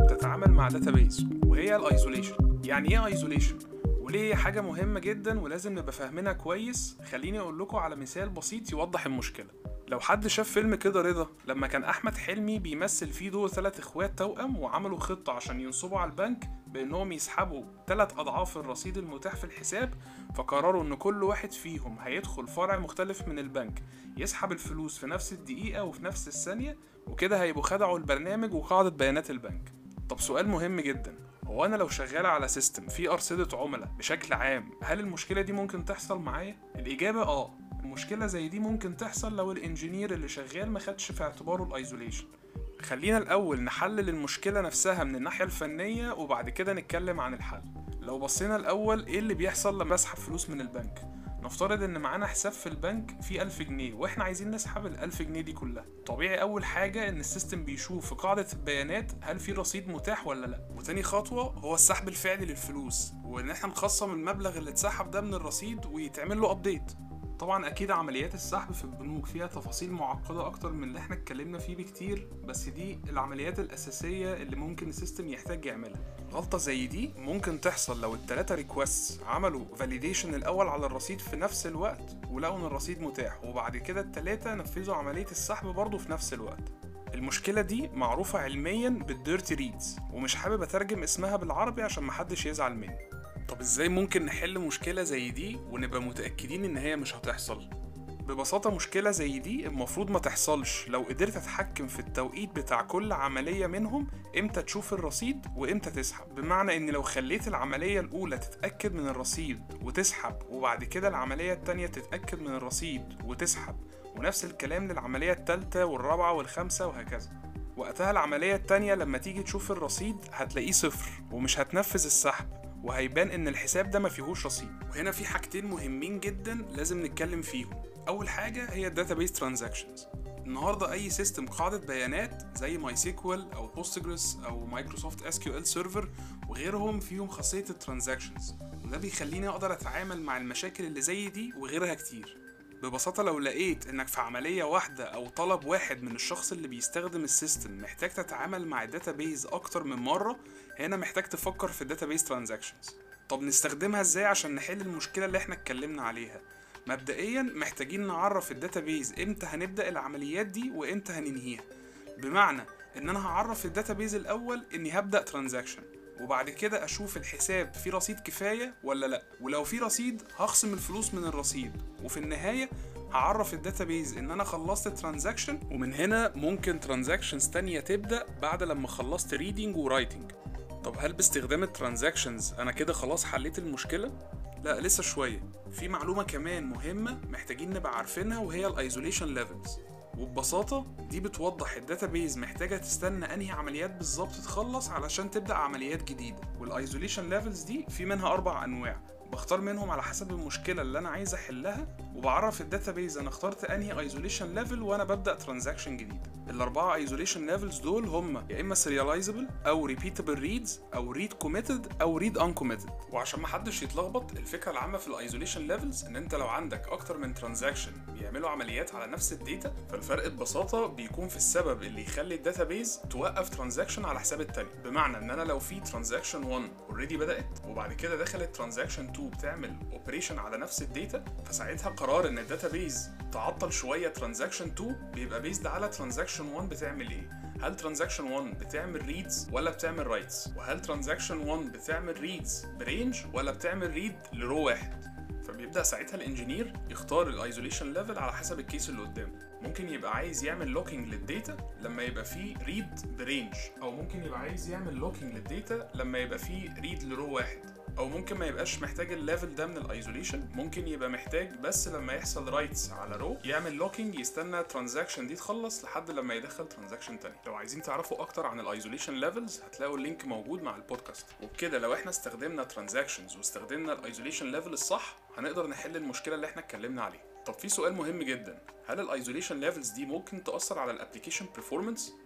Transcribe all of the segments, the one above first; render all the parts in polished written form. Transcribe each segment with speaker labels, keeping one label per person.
Speaker 1: بتتعامل مع داتابيز وهي الايزوليشن. يعني ايه ايزوليشن وليه هي حاجه مهمه جدا ولازم نبقى فاهمينها كويس؟ خليني اقول لكم على مثال بسيط يوضح المشكله. لو حد شاف فيلم كده رضا لما كان احمد حلمي بيمثل فيه دور 3 اخوات توأم وعملوا خطه عشان ينصبوا على البنك بانهم يسحبوا 3 اضعاف الرصيد المتاح في الحساب، فقرروا ان كل واحد فيهم هيدخل فرع مختلف من البنك يسحب الفلوس في نفس الدقيقه وفي نفس الثانيه، وكده هيبقوا خدعوا البرنامج وقاعده بيانات البنك. طب سؤال مهم جدا، هو انا لو شغال على سيستم فيه ارصده عملاء بشكل عام، هل المشكله دي ممكن تحصل معايا؟ الاجابه المشكله زي دي ممكن تحصل لو الانجينير اللي شغال ما خدش في اعتباره الايزوليشن. خلينا الاول نحلل المشكله نفسها من الناحيه الفنيه وبعد كده نتكلم عن الحل. لو بصينا الاول ايه اللي بيحصل لما اسحب فلوس من البنك، نفترض ان معانا حساب في البنك فيه 1000 جنيه واحنا عايزين نسحب ال1000 جنيه دي كلها. طبيعي اول حاجة ان السيستم بيشوف في قاعدة البيانات هل في رصيد متاح ولا لا، وتاني خطوة هو السحب الفعلي للفلوس، وان احنا نخصم المبلغ اللي اتسحب ده من الرصيد ويتعمل له ابديت. طبعا اكيد عمليات السحب في البنوك فيها تفاصيل معقدة اكتر من اللي احنا اتكلمنا فيه بكتير، بس دي العمليات الاساسية اللي ممكن السيستم يحتاج يعملها. غلطة زي دي ممكن تحصل لو ال3 ريكوست عملوا فاليديشن الاول على الرصيد في نفس الوقت ولقوا ان الرصيد متاح، وبعد كده ال3 نفذوا عملية السحب برضه في نفس الوقت. المشكلة دي معروفة علميا بالديرتي ريدز، ومش حابب اترجم اسمها بالعربي عشان محدش يزعل مني. طب ازاي ممكن نحل مشكلة زي دي ونبقى متأكدين ان هي مش هتحصل؟ ببساطة مشكلة زي دي المفروض ما تحصلش لو قدرت اتحكم في التوقيت بتاع كل عملية منهم، امتى تشوف الرصيد وامتى تسحب. بمعنى ان لو خليت العملية الاولى تتأكد من الرصيد وتسحب، وبعد كده العملية التانية تتأكد من الرصيد وتسحب، ونفس الكلام للعملية التالتة والرابعة والخامسة وهكذا، وقتها العملية التانية لما تيجي تشوف الرصيد هتلاقيه صفر ومش هتنفذ السحب، وهيبان ان الحساب ده ما فيهوش رصيد. وهنا في حاجتين مهمين جدا لازم نتكلم فيهم. اول حاجه هي الداتابيس ترانزاكشنز. النهارده اي سيستم قاعده بيانات زي ماي سيكوال او بوستجريس او مايكروسوفت اس كيو ال سيرفر وغيرهم فيهم خاصيه الترانزاكشنز، وده بيخليني اقدر اتعامل مع المشاكل اللي زي دي وغيرها كتير. ببساطه لو لقيت انك في عمليه واحده او طلب واحد من الشخص اللي بيستخدم السيستم محتاج تتعامل مع الداتابيز اكتر من مره، هنا محتاج تفكر في الداتابيس ترانزاكشنز. طب نستخدمها ازاي عشان نحل المشكله اللي احنا اتكلمنا عليها؟ مبدئيا محتاجين نعرف الداتابيز امتى هنبدا العمليات دي وامتى هننهيها. بمعنى ان انا هعرف الداتابيز الاول اني هبدا ترانزاكشن، وبعد كده اشوف الحساب فيه رصيد كفايه ولا لا، ولو فيه رصيد هخصم الفلوس من الرصيد، وفي النهايه هعرف الداتابيز ان انا خلصت ترانزاكشن، ومن هنا ممكن ترانزاكشنز تانية تبدا بعد لما خلصت ريدنج ورايتنج. طب هل باستخدام الترانزاكشنز انا كده خلاص حليت المشكله؟ لا، لسه شويه. في معلومه كمان مهمه محتاجين نبقى عارفينها، وهي الايزوليشن ليفلز، وببساطه دي بتوضح الداتابيز محتاجه تستنى انهي عمليات بالظبط تخلص علشان تبدا عمليات جديده. والايزوليشن ليفلز دي في منها 4 انواع، بختار منهم على حسب المشكله اللي انا عايز احلها، وبعرف الداتابيز انا اخترت انهي ايزوليشن ليفل وانا ببدا ترانزاكشن جديد. الاربعه ايزوليشن ليفلز دول هم يا اما سيريالايزبل او ريبيتابل ريدز او ريد كوميتد او ريد انكوميتد. وعشان ما حدش يتلخبط، الفكره العامه في الايزوليشن ليفلز ان انت لو عندك اكتر من ترانزاكشن بيعملوا عمليات على نفس الداتا، فالفرق ببساطه بيكون في السبب اللي يخلي الداتابيز توقف ترانزاكشن على حساب التاني. بمعنى ان انا لو في ترانزاكشن 1 اوريدي بدات وبعد كده دخلت ترانزاكشن 2 بتعمل اوبريشن على نفس الداتا، فساعتها قرار ان الداتابيز تعطل شويه ترانزاكشن 2 بيبقى بيزد على ترانزاكشن 1 بتعمل ايه. هل ترانزاكشن 1 بتعمل ريدز ولا بتعمل رايتس؟ وهل ترانزاكشن 1 بتعمل ريدز برينج ولا بتعمل ريد لرو واحد؟ فبيبدا ساعتها الانجينير يختار الايزوليشن ليفل على حسب الكيس اللي قدامه. ممكن يبقى عايز يعمل لوكينج للداتا لما يبقى فيه ريد برينج، او ممكن يبقى عايز يعمل لوكينج للداتا لما يبقى فيه ريد لرو واحد، او ممكن ما يبقاش محتاج الليفل ده من الايزوليشن، ممكن يبقى محتاج بس لما يحصل رايتس على رو يعمل لوكينج يستنى الترانزاكشن دي تخلص لحد لما يدخل ترانزاكشن تاني. لو عايزين تعرفوا اكتر عن الايزوليشن ليفلز هتلاقوا اللينك موجود مع البودكاست. وبكده لو احنا استخدمنا ترانزاكشنز واستخدمنا الايزوليشن ليفل الصح هنقدر نحل المشكله اللي احنا اتكلمنا عليها. طب في سؤال مهم جدا، هل الايزوليشن ليفلز دي ممكن تاثر على الابلكيشن performance؟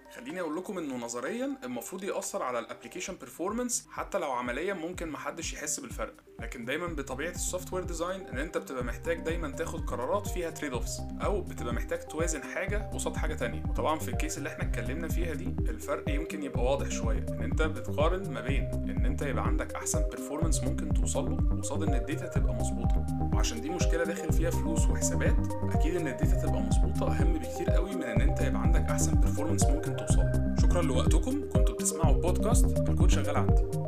Speaker 1: خليني اقول لكم انه نظريا المفروض يأثر على الابليكيشن بيرفورمانس، حتى لو عمليا ممكن محدش يحس بالفرق. لكن دايما بطبيعه السوفت وير ديزاين ان انت بتبقى محتاج دايما تاخد قرارات فيها تريد اوفس، او بتبقى محتاج توازن حاجه قصاد حاجه تانية. وطبعا في الكيس اللي احنا اتكلمنا فيها دي الفرق يمكن يبقى واضح شويه، ان انت بتقارن ما بين ان انت يبقى عندك احسن بيرفورمانس ممكن توصل له قصاد ان الداتا تبقى مظبوطه. وعشان دي مشكله داخل فيها فلوس وحسابات، اكيد ان الداتا تبقى مظبوطه اهم بكتير قوي من ان انت يبقى عندك احسن بيرفورمانس ممكن توصل له. شكرا لوقتكم، كنتوا بتسمعوا بودكاست الكود شغال عندي.